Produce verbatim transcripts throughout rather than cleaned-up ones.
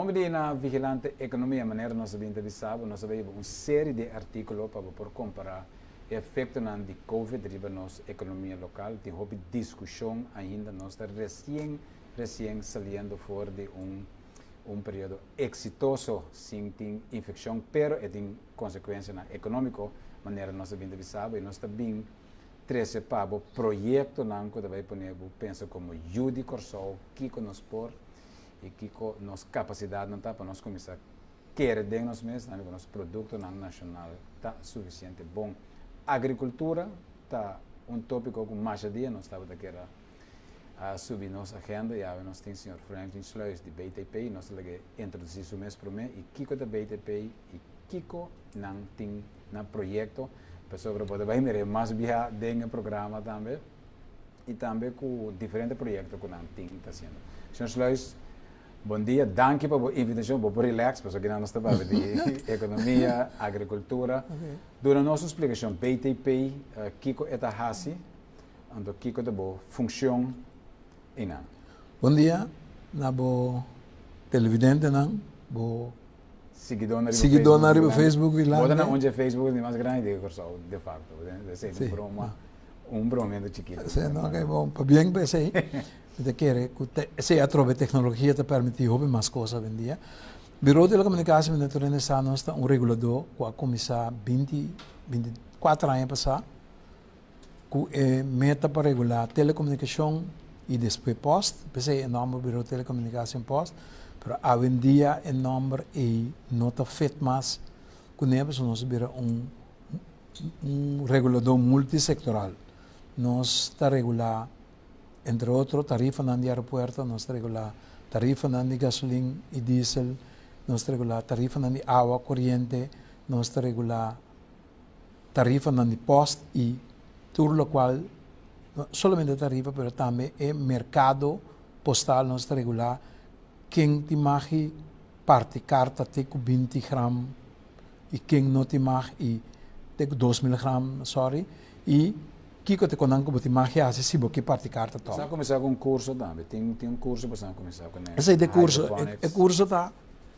Vamos na vigilante economia, maneira nós entrevistamos, nós sabemos uma série de artigos para por comparar o efeito de Covid riba nossa economia local. Tem uma discussão ainda, nós estamos recém, recém saindo fora de um um período exitoso sem ter infecção, pero é tem consequência econômica, maneira nós entrevistamos e nós também treze para o projeto não que vai poner pensa como Judy Corsol, que nos por e que nos capacidade não está para nós começar a querer de nós mesmos, não nosso produto nacional está suficiente bom. Agricultura está um tópico com mais dia nós estava a querer a subir nossa agenda, e nós temos o senhor Franklin Sluis de B T P, nós temos que introduzir isso mês para mim, e Kiko da B T P e Kiko não tem um projeto para sobre poder vai mer mais via dentro programa também e também com diferentes projetos que não tem está sendo. senhor Sluis, bom dia, danke pela invitação, para relax, para que nós estamos de economia, agricultura. Okay. Durante nossa explicação, B T P, uh, Kiko eta hasi, ando Kiko da boa função. Ina. Bom dia, na bo televidente não, bo seguidor na seguidor na Facebook, Facebook e lá. Bota na onde é Facebook é mais grande que o de facto, de ser um broma, um bromendo chiquito. Sim, não é bom, para bem pensei. De querer que se através da tecnologia te permite hobby mais coisas hoje em dia. Bureau de Comunicação Natureza está nós um regulador que a começar vinte, vinte e quatro anos passar, que é meta para regular telecomunicação e depois post, pensei em nome do Bureau de Telecomunicação Post, mas hoje em dia o nome é não está feito mais, que nós vira um, um regulador multissectoral. Nós está regular, entre outros, tarifa de aeroporto, nós está regular tarifa de gasolina e diesel, nós está regular tarifa de água corrente, nós está regular tarifa de post e tudo o qual solamente tarifa, mas também é mercado postal, nós está regular quem te marque parte carta tem com vinte gramas e quem não te marque tem com dois mil gramas, sorry, e que te conanco bote marque assim se boque parte carta toma. Você começar com um curso também, tem tem um curso para começar com esse. Esse de curso, é curso tá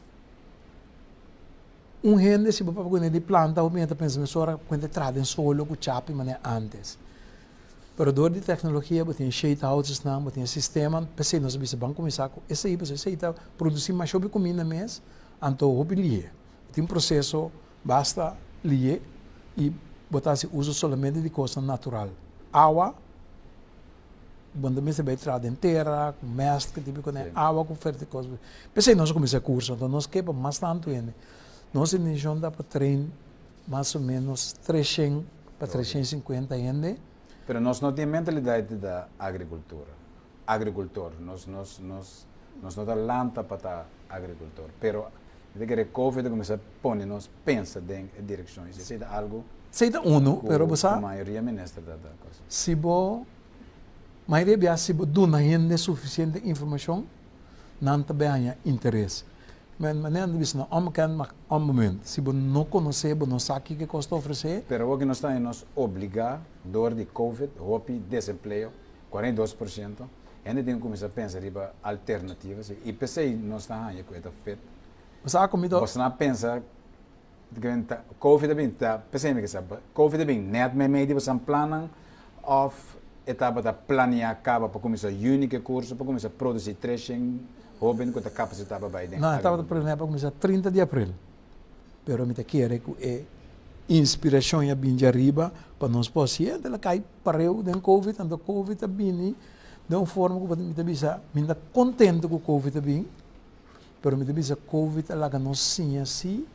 um rende se para quando de planta ou meta pensa me sora quando trada em solo com chape mané antes. Pero dor de tecnologia, botem shade houses não, botem sistema, pensei nós bisa banco começar com esse aí, você está produzir mais sobre comida mês, então hobby lié. Tem um processo basta lié e botar se uso somente de coisa natural. Água, quando você vai trada inteira, com mestre, tipo com água com oferta de coisas. Pensei nós começar curso, então nós quepa mais tanto ainda. Nós iniciamos dá para treinar mais ou menos trezentos para trezentos e cinquenta ainda. Pero nós não temos mentalidade da agricultura. Agricultor, nós nós nós nós não dá lanta para agricultor. Pero de que Covid começa a pôr nós pensa em direções. Isso é algo. Seita uno, pero você. A maioria ministra da coisa. Se bo, maioria bia se bo dona ainda suficiente informação, não também há interesse. Mas maneira de dizer não, om kan mak om moment. Se bo não conhecer, bo não sabe que custa oferecer. Pero o que nós está nos obrigar dor de Covid, hopi desemprego quarenta e dois por cento. Ainda tem que começar a pensar em alternativas e pensei nós está aí com esta feita. Você há comido? Você não pensa Covid bem tá, pensei me que sabe. Covid bem net me meio você plana of etapa da planear acaba para começar único curso para começar a produzir trezentos Robin com a capacidade para vai dentro. Não, estava para começar trinta de abril. Pero me te quero que é inspiração e a bem de arriba para nós possível, ela cai para eu dentro Covid, então Covid está bem, de uma forma que me te bisa, me está contente com o Covid está bem, pero me te bisa Covid ela que nós sim assim,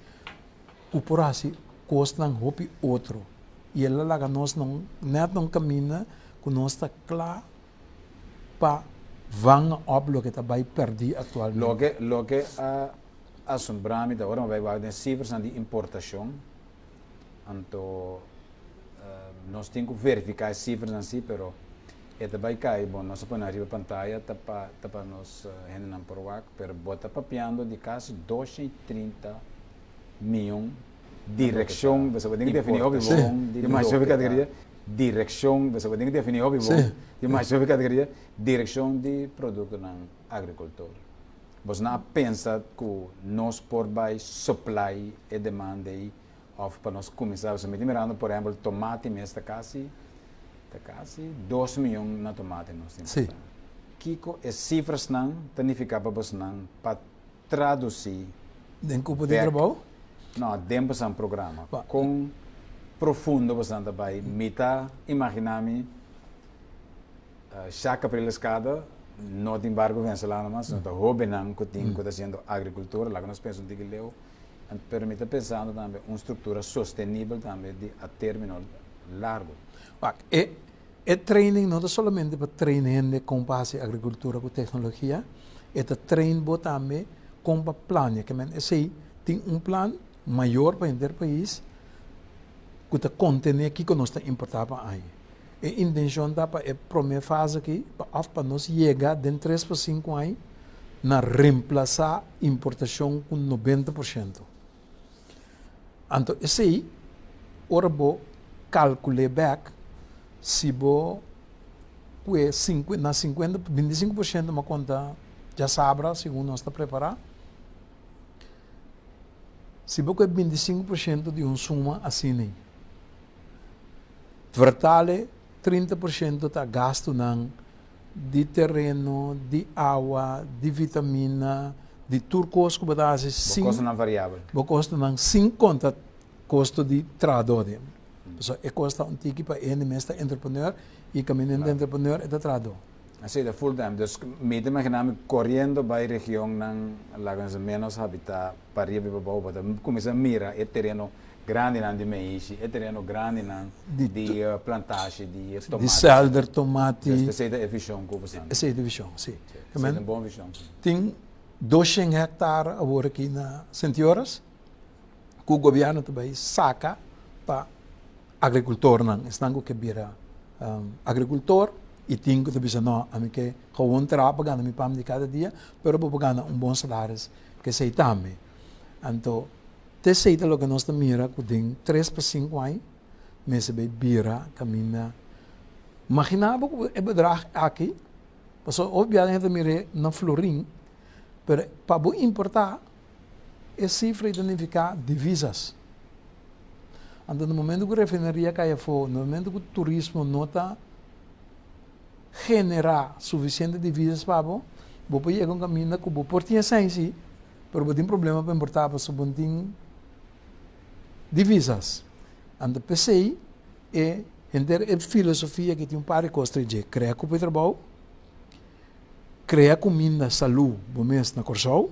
o por assim custa não hopi outro, e ela lá que nós não net não caminha, que nós está claro para van op lo que está vai perder atualmente. Lo que lo que a assombrar-me agora vai vai de cifras de importação. Então uh, nós temos que verificar as cifras assim, pero é também cai bom nós põe arriba pantalla tá para tá para nós ainda não por wak, pero bota papiando de quase duzentos e trinta milhões direção, você vai ter que definir o bom de mais sobre categoria. Direção, você vai ter que definir o bom de mais sobre categoria, direção de produto na agricultura. Você não pensa que nós por vai supply e demanda aí, ou para nós começar, você me mirando, por exemplo, tomate mês está quase, está quase dois milhões na tomate nós temos. Sim. Kiko, as cifras não, significa para você não, para traduzir. Den cupo de trabalho? Não, dentro de um programa. Ba. Com profundo bastante vai, mita, imaginar-me, uh, chaca para a escada, não tem barco venezolano, mas não está roubando, que tem, que está sendo agricultura, lá que nós pensamos que leu, e permite pensando também uma estrutura sustentável também de a término largo. Ba, e, e training não é somente para treinar com base agricultura com tecnologia, é para treinar também com plano, que men esse tem um plano maior para o país, que está contendo aqui que nós está importar para aí. A intenção da para a primeira fase aqui, para nós chegar de três para cinco anos, na reemplaçar a importação com noventa por cento. Então, esse aí, ora vou calcular back, se vou na cinquenta, vinte e cinco por cento uma conta já sabra, segundo nós está preparado. Se você vinte e cinco por cento de um suma assim, vertale trinta por cento está gasto nang de terreno, de água, de vitamina, de turcos que você sim. Custo não variável. Você custa nang cinco conta custo de trador. So, é custa um tiki para ele mesmo entrepreneur e caminhando de entrepreneur é trador. Assim, de full time. Dus, me imaginamos correndo para a região nang lagas menos habitat para ir para o para começar a mirar o terreno grande nan de maíz, o terreno grande nan de, de uh, plantagem de tomate. De selder, tomate. Essa é a visão que você tem. Essa é a visão, sim. Essa é uma boa visão. Tem duzentos hectares agora aqui na Sentioras, que o governo também saca para agricultor nan, estão que vira um, agricultor e tem que dizer não, a mim que gewoon trabalhar na minha pam de cada dia, pero vou pagar um bom salário que sei também. Então te seita lo que nós mira que tem três para cinco anos, mas bem vira caminha. Imaginava que é bedrag aqui, mas obviamente mira na Florim, pero para importar é cifra identificar divisas. Então no momento que a refinaria cai fora, no momento que o turismo não está generar suficiente divisas para você, você chega um caminho que você pode ter ciência, mas você tem problema para importar para você tem divisas. Então, P C I é a filosofia que tem um par de coisas de criar cupo de trabalho, criar comida, saúde, bom mês na Corsol,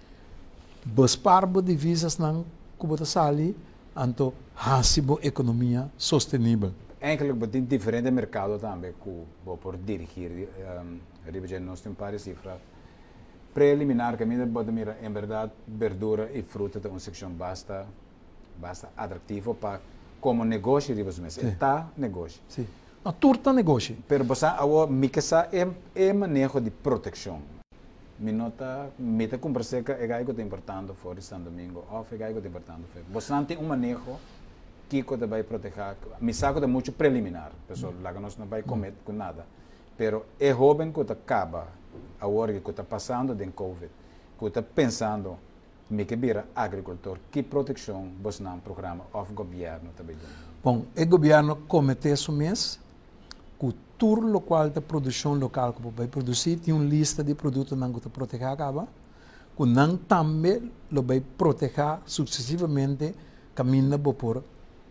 buscar divisas na cupo de sali, então, hasibo economia sustentável. Eigenlijk betekent diferente mercado também que por dirigir, um, ribeiro nós temos várias cifras preliminar que ainda pode mirar em verdade verdura e fruta de uma secção basta basta atrativo para como negócio ribeiro mesmo está negócio. Sim. A turta negócio. Pero você agora mixa é é manejo de proteção. Minota meta conversa que é algo que importante fora São Domingo, ou é algo que importante. Você não tem um manejo que você vai proteger. Me saco de muito preliminar, pessoal, lá que nós não vai comer com nada. Pero é jovem que acaba agora que está passando de Covid, que está pensando me que vira agricultor, que proteção você não programa of governo também. Bom, o governo comete isso mês, que todo local de produção local que vai produzir tem uma lista de produtos que você proteger acaba, que não também lo vai proteger sucessivamente caminha por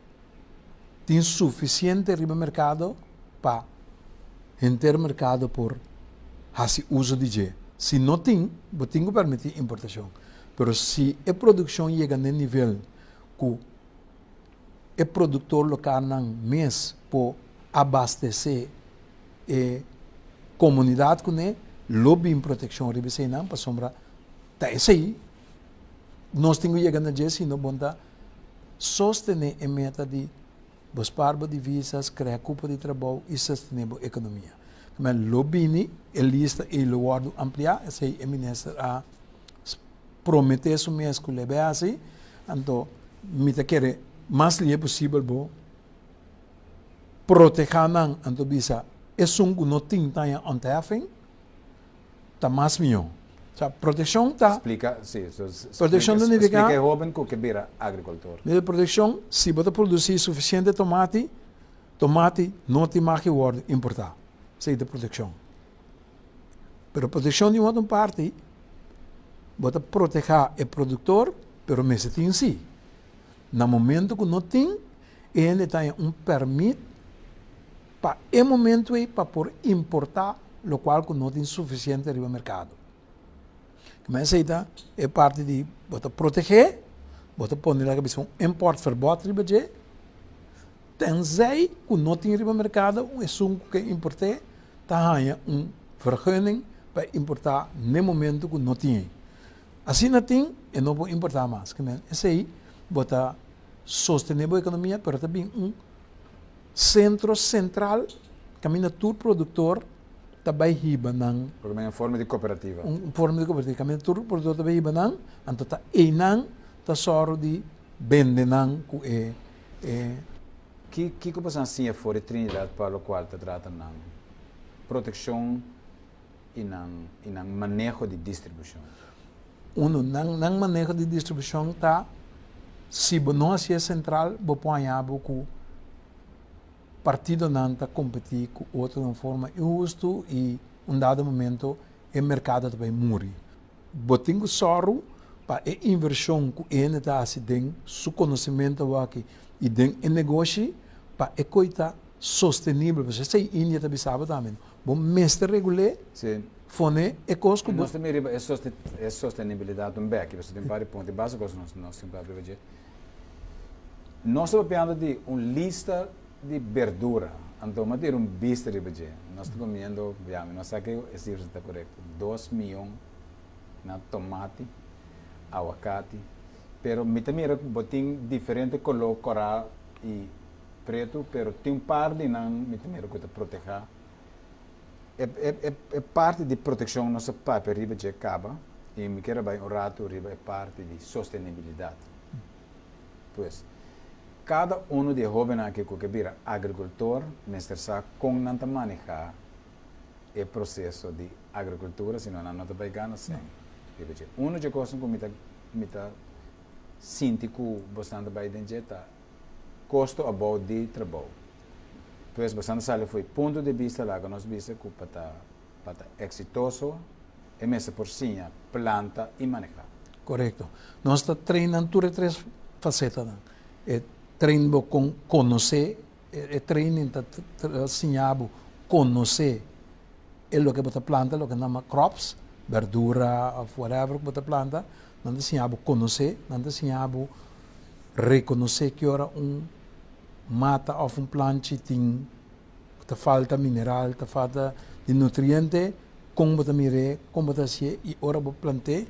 tem suficiente riba mercado para enter mercado por fazer uso de je. Se não tem, você tem que permitir importação. Mas se a produção chega no nível que o produtor local não mês por abastecer a comunidade com ele, lobby em proteção riba sem não para sombra. Tá esse aí. Nós temos que chegar na je se não bonda sostener a meta de buscar divisas, criar cupo de trabalho e sustentável economia. Mas lobby a lista e o guardo ampliar, esse é o ministro a prometer isso mesmo que leve assim, então me te quer mais livre possível bo proteger não, então bisa é um que não tem taia ontafing, tá mais melhor. Sa proteção tá. Explica, sim. So, Proteção explica, significa explica jovem que vira agricultor. De proteção, se você produzir suficiente tomate, tomate não te mais worden importar. Isso é de proteção. Pero proteção de uma parte, você proteger o produtor, pero mesmo tem si. No momento que não tem, ele tem um permit para o momento para por importar, o qual não tem suficiente no mercado. Mas essa é parte de você proteger, você pode lá que um importverbod ribeje, tenzij que não tem no mercado, um assunto que importe, tá ganha um vergunning para importar no momento que não tem. Assim não tem, e não pode importar mais. Esse aí, você sustentável a economia, mas também um centro central, caminha todo produtor, também riba nang porque é uma forma de cooperativa um forma de cooperativa caminha todo produtor também riba nang anto ta e nang ta soro de vende nang ku é é que que que passa assim é fora Trinidad para o qual te trata nang proteção e nang e nang manejo de distribuição uno nang nang manejo de distribuição tá se não é central bo ponhabo ku partido não está competir com outro de uma forma injusta e um dado momento o mercado também morre. Botinho soro para a inversão que ele está fazendo, seu conhecimento aqui e o negócio para a coisa sustentável. Você sei Índia também sabe também. Bom, mestre regular, fone e costo. Nós também é sustentabilidade um back. Você tem vários pontos básicos nós nós sempre abrir. Nós estamos falando de uma lista de verdura, então mas ter um bicho de bebê. Nós estamos comendo, viamos, nós aqui é se está correto, dois milhões na tomate, aguacate, pero me também botin diferente color coral e preto, pero tem um par de não me também que te proteger. É, é, é parte de proteção nossa papel riba de acaba e me quero bem o rato riba é parte de sustentabilidade. Pois cada um de jovens aqui que vira agricultor, mestre sabe como não manejar o processo de agricultura, senão não está vai ganhar sem. Um de coisas que me está sentindo bastante bem dentro custo about de trabalho. Pois bastante sale foi ponto de vista lá que nós vimos que para para exitoso é mesmo por si planta e manejar. Correto. Nós está treinando tudo três facetas. Treino com conhecer, é treino para ensinar conhecer o que você planta, o que chama crops, verdura, whatever que você planta, não ensinar conhecer, não ensinar reconhecer que ora um mata ou um plante tem te falta mineral, te falta de nutriente, como você mire, como você se e ora você plante,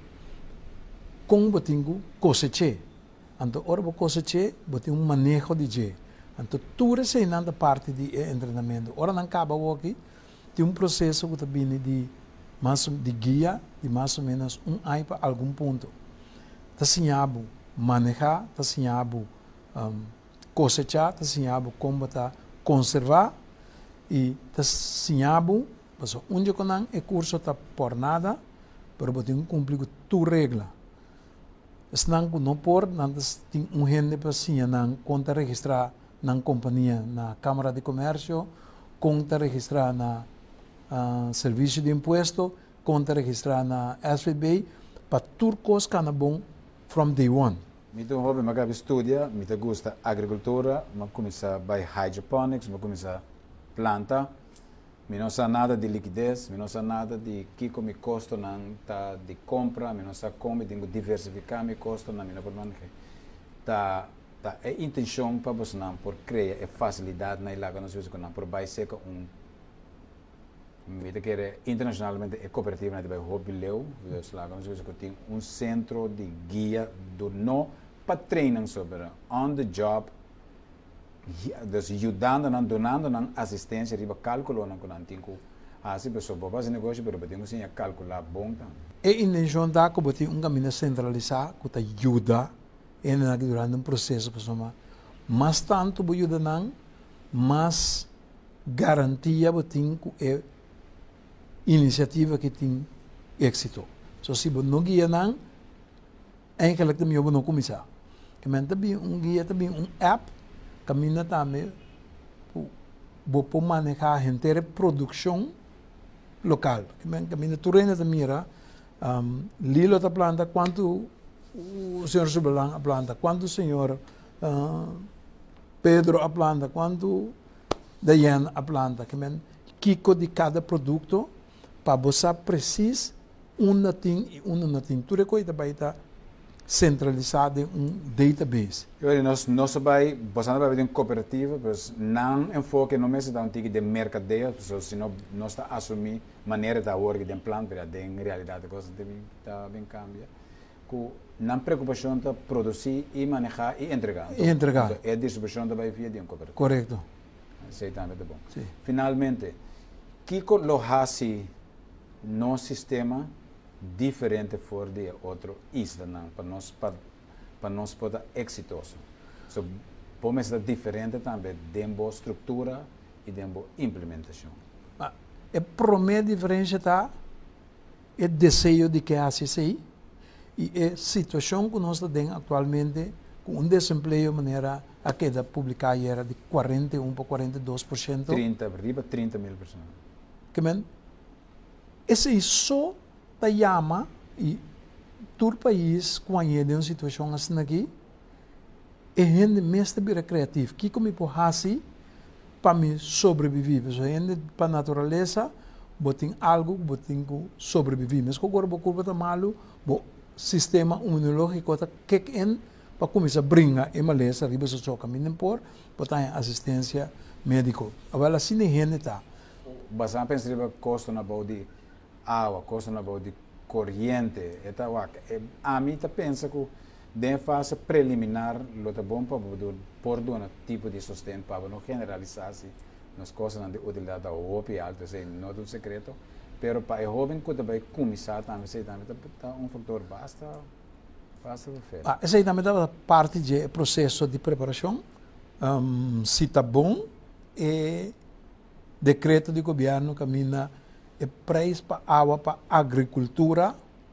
como você tem cosechar. Então, ora você coseche, você tem um manejo de je. Então, tudo isso é na parte de treinamento. Ora não acaba aqui, tem um processo que vem de mais de guia, de mais ou menos um ano para algum ponto. Está ensinado manejar, está ensinado um, cosechar, está ensinado como está conservar e está ensinado, porque onde é curso está por nada, mas você tem que cumprir tua regra. Senang não por, não tem um gente para sim, não conta registrar na companhia, na Câmara de Comércio, conta registrar na uh, Serviço de Imposto, conta registrar na S V B, para tudo coisa que é bom from day one. Então, hobby, mas estudia, me gusta agricultura, mas começa by hydroponics, mas começa planta, me não sabe nada de liquidez, me não sabe nada de que me custa não tá de compra, me não sabe como tenho diversificar me custa não me não pode tá tá é intenção para você não por criar é facilidade na ilaga nós vemos que não por vai ser um me te quer internacionalmente é cooperativa na de hobby leu nós lá nós vemos que tem um centro de guia do não para treinar sobre on the job. Dus ajudando, não donando, não assistência, riba cálculo, não com antigo. Assim, pessoal, para fazer negócio, pero temos que calcular bom também. E intenção da que botar um caminho centralizado que te ajuda em durante um processo, pessoal. Mas tanto bo ajuda não, mas garantia botin que é iniciativa que tem êxito. So se você não guia não, eigenlijk também eu não começar. Que men também um guia também um app, caminha também, vou manejar a inteira produção local. Que men caminha turena também era, um, Lilo da planta, quanto o senhor Subelan a planta, quanto o senhor uh, Pedro a planta, quanto Dayan a planta, que men kiko de cada produto para você precis uma ting e uma não ting. Tudo coisa vai estar centralizado em um database. Eu nós nós vai, você não vai ter uma cooperativa, mas não enfoque no mês da um tipo de mercadeio, senão nós está assumir maneira da org de plano, para de realidade a coisa também está bem cambia. Com não preocupação de produzir e manejar e entregar. E entregar. Então, é distribuição da vai via de uma cooperativa. Correto. Sei também é bom. Sim. Finalmente, que lo hace no sistema diferente for de outro isla para nós para para nós poder exitoso. So, podemos ser diferente também dentro estrutura e dentro implementação. Ah, é primeira diferença tá é desejo de que hace sei e é situação que nós temos atualmente com um desemprego maneira a queda publicada era de quarenta e um para quarenta e dois por cento. trinta, arriba trinta mil pessoas. Que men esse só ta chama e todo país quando é uma situação assim aqui é gente mesmo bem criativo que como por assim para me sobreviver so gente para natureza botem algo botem sobreviver mas agora o corpo tá malo o sistema imunológico tá kick in para começar a brincar e maleza arriba so so caminho por botar assistência médica agora assim a gente tá bastante pensar que custa na de água, custa na de corrente, eta wak. A mim tá pensa que de fase preliminar lo tá bom para por um tipo de sustento para não generalizar-se nas coisas de utilidade da O P alto, sei, não é um segredo, pero para o jovem que vai começar também sei também tá um fator basta fácil de fazer. Ah, essa aí também tá parte do processo de preparação. Um, se tá bom é decreto de governo caminha é preço para água para agricultura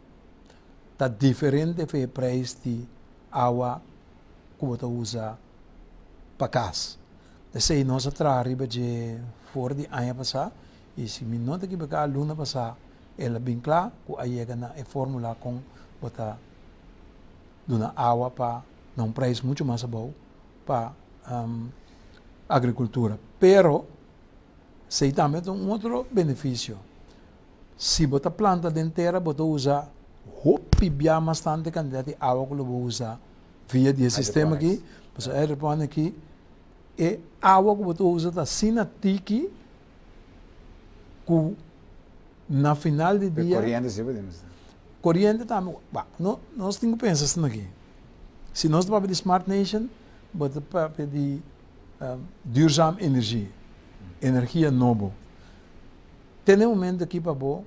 está diferente do preço de água que você usa para casa. Esse aí nós atrás de fora de ano passado e se me nota que a luna passada ela bem clara que aí é na é fórmula com você dona água para um preço muito mais bom para um, agricultura. Pero se também tem um outro benefício. Se você planta inteira, você usa hopi bia bastante quantidade de água que você usa via de sistema aqui, você aeropone aqui, e água que você usa da sina tiki, que na final do dia... Corrente, sim, podemos. Corrente também, nós temos que pensar assim aqui. Se nós estamos de Smart Nation, você pode pedir um, duurzame energia. Energia novo. Tem um momento aqui para bom,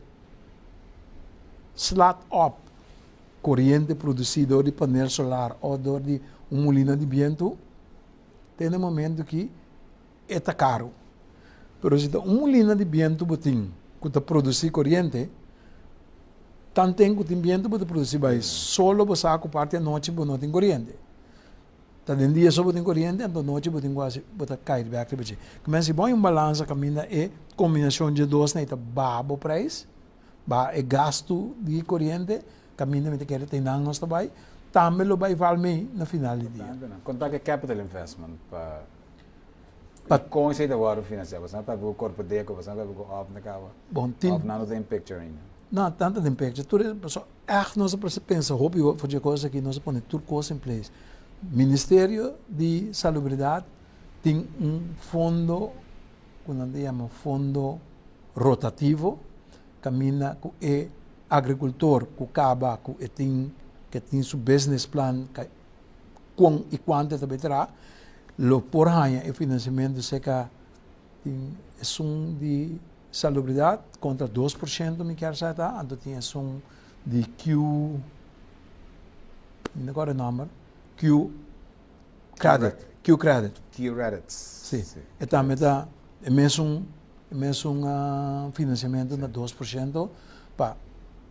slot up, corrente produzida de painel solar ou de uma molina de vento, tem um momento que é caro. Mas se uma molina de vento botin, que está produzir corrente, tanto tempo que tem vento para produzir, mas só você a parte da noite não tem corrente. Tá de dia só botem corrente, então noite botem quase botar cair back para você. Começa bom um balanço caminha é combinação de dois né, tá babo preço, ba é gasto de corrente, caminha me quer ter não nós também, também lo vai valer na final do dia. Contar que capital investment para para conhecer da water financeiro, você para o corpo de eco, você para o off na cava. Bom, tem off não tem picture ainda. Não, tanto tem picture. Tudo só é nós pensa, hobby fazer coisa que nós põe tudo coisa em place. Ministério de Salubridade tem um fundo, quando chama fundo rotativo, caminha com o agricultor que acaba que tem que tem seu business plan, com e quanto também terá, lo por hanha e financiamento seca tem é um de salubridade contra dois por cento me quer saber, então tem um de Q, agora o número Q credit, Q credit. Q credits. Sim. Sim. E também dá é mesmo é mesmo um uh, financiamento de dois por cento para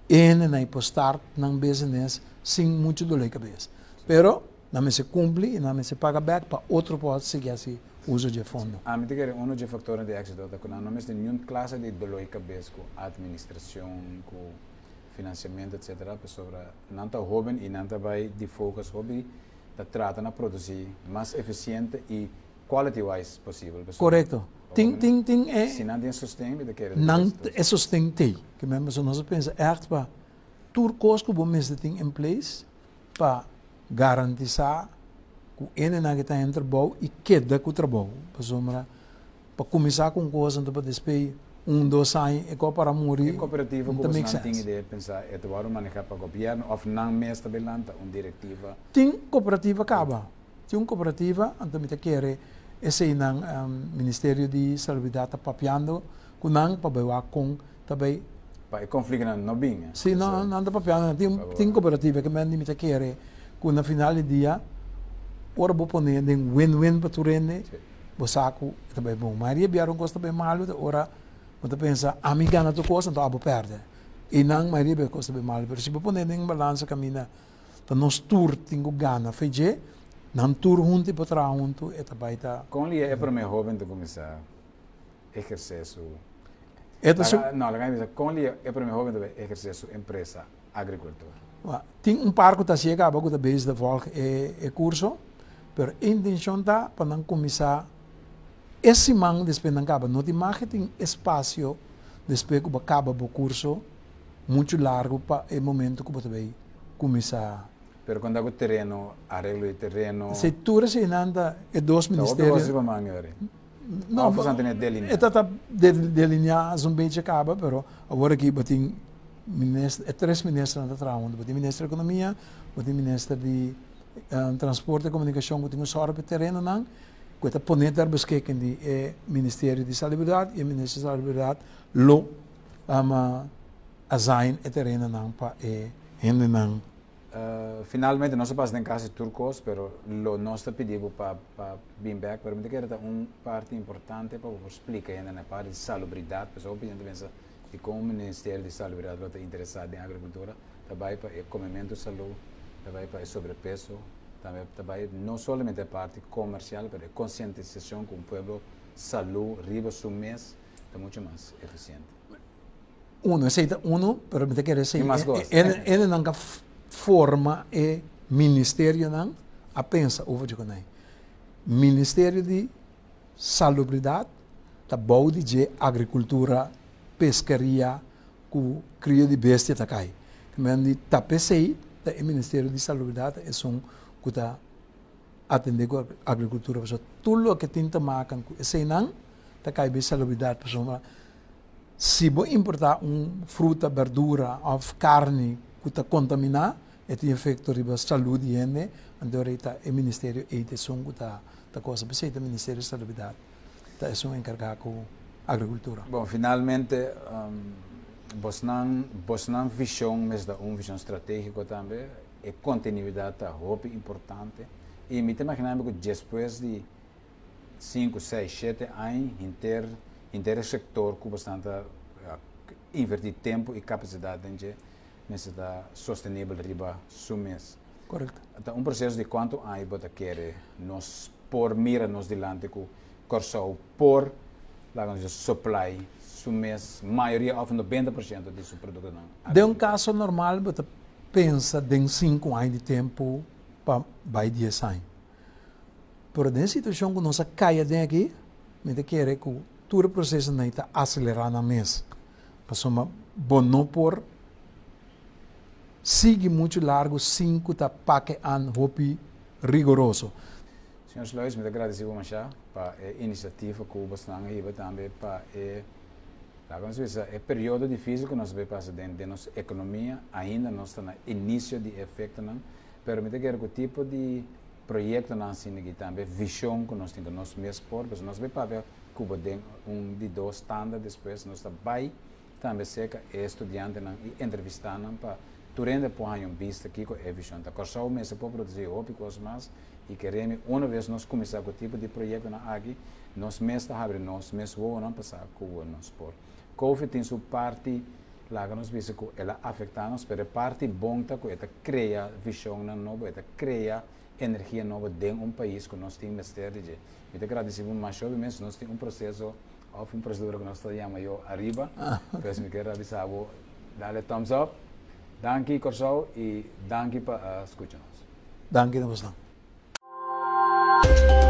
en na ipo start ng business sem muito dor de cabeça. Pero na me se cumpre e na me se paga back para outro pode seguir assim uso de fundo. A mim que um dos fatores de éxito é que não temos nenhuma classe de dor de cabeça com administração, com financiamento, etcétera. Sobre não tá jovem e não tá vai de focus hobby, tá trata na produzir mais eficiente e quality-wise possível. Correto. Ting, ting, ting é... Se não tem sustento, de que não é sustento. Que mesmo se nós pensa, echt para tudo coisa que o mês tem em place para garantizar que o ene na que está em trabalho e queda com o trabalho. Para começar com coisa, para despedir um, dois anos, e para morrer. E cooperativa, como você não tem ideia de pensar, é de manejar para o governo, ou não mesmo tabelanta, uma diretiva? Tem cooperativa acaba. Tem uma cooperativa, então me quer esse nang um, Ministério de Salubridade está papiando com nang para com também para conflito não bem. Sim, não não está papiando. Tem tem cooperativa que me me quer com na final do dia ora vou pôr em win-win para tu rende. Vou saco também bom. Maria biar um custo bem malo ora você pensa amiga na tua coisa então abo perde. E nang Maria biar custo bem malo. Mas se vou pôr em balança caminha então nós tour tenho gana fez não tour junto para trás junto é também tá. Como ele é para mim jovem de começar exercer su Eta su não, lá dizer como ele é para mim jovem de exercer sua empresa agricultura. Tem um parque que chega para a base da volta é é curso, mas a intenção tá para não começar esse man depois não acaba, não tem marketing espaço depois que acaba o curso muito largo para o momento que você vai começar. Pero quando o terreno, arreglo de terreno... Se tudo se nanda é dois ministérios... Não, não, não, não, está delineado um bem acaba, mas agora aqui tem é três ministros na trama, tem ministro da economia, tem ministro de um, transporte e comunicação, que tem um só para terreno não, que está ponendo a buscar de é Ministério de Salubridade e o Ministério de Salubridade lo um, assign e terreno não para é rende não. Uh, finalmente, nós passamos em casa turcos, mas o nosso pedido para vir back, para mim que era uma parte importante para explicar ainda na parte de salubridade, porque obviamente pensa que como o Ministério de Salubridade está interessado em agricultura, também para o comimento de saúde, também para o sobrepeso, também, também não somente a parte comercial, mas a conscientização com o povo, saúde, riba, su mês, é muito mais eficiente. Uno, aceita uno, pero me te quero dizer, ele não forma e ministério não a pensa over de conai Ministério de Salubridade tá bom de agricultura pescaria com cria de bestia tá cai mas de tá pensei tá o Ministério de Salubridade é um que tá atender a agricultura para tudo o que tenta marcar esse não tá cai bem salubridade para se vou importar um fruta verdura ou carne que está contaminada, e tem efeito sobre a saúde e ene, então está o Ministério e tem som que está está coisa, mas o Ministério de Salubridade está é um encarregado com agricultura. Bom, finalmente, um, vos não vos não visão, mas da uma visão estratégica também, e continuidade é muito importante. E me imaginando que depois de cinco, seis, sete anos, inter inter sector que bastante uh, invertir tempo e capacidade em necessita sostenível riba sumes. Correto. Então, um processo de quanto aí bota quer nos por mira nos dilante com corso por lá com supply sumes maioria of noventa por cento de seu produto não. De um caso normal bota pensa em cinco anos de tempo para vai dez anos. Por na situação que nós caia daqui, me quer que todo o processo não está acelerado na mesa. Passou uma bom não por sigue muito largo, cinco tá paque an hopi rigoroso. Senhor Luiz, me agradeço muito para a iniciativa que o Bastante e também para o período difícil que nós vamos passar dentro da nossa economia, ainda nós estamos no início de efeito, mas me quero que o tipo de projeto nós temos aqui também, visão que nós temos nos meus por, mas nós vamos para Cuba tem um de dois estándares, depois nós também também seca estudante e entrevistar para Turende põe um visto aqui com a visão. Tá corso mês para produzir ópicos mais e queremos uma vez nós começar com o tipo de projeto na aqui, nós mês está abrindo nós mês vou não passar com o nosso por. Covid tem sua parte lá nos visa que ela afeta nos, pero parte bonta que ela cria visão nova, ela cria energia nova dentro de um país que nós temos mistério de. Eu te agradeço muito mais, obviamente, nós temos um processo, ou uma procedura que nós chamamos eu arriba, então me quero avisar, dale thumbs up, danke Corsau e danke para uh, escutar-nos. Danke, namaste.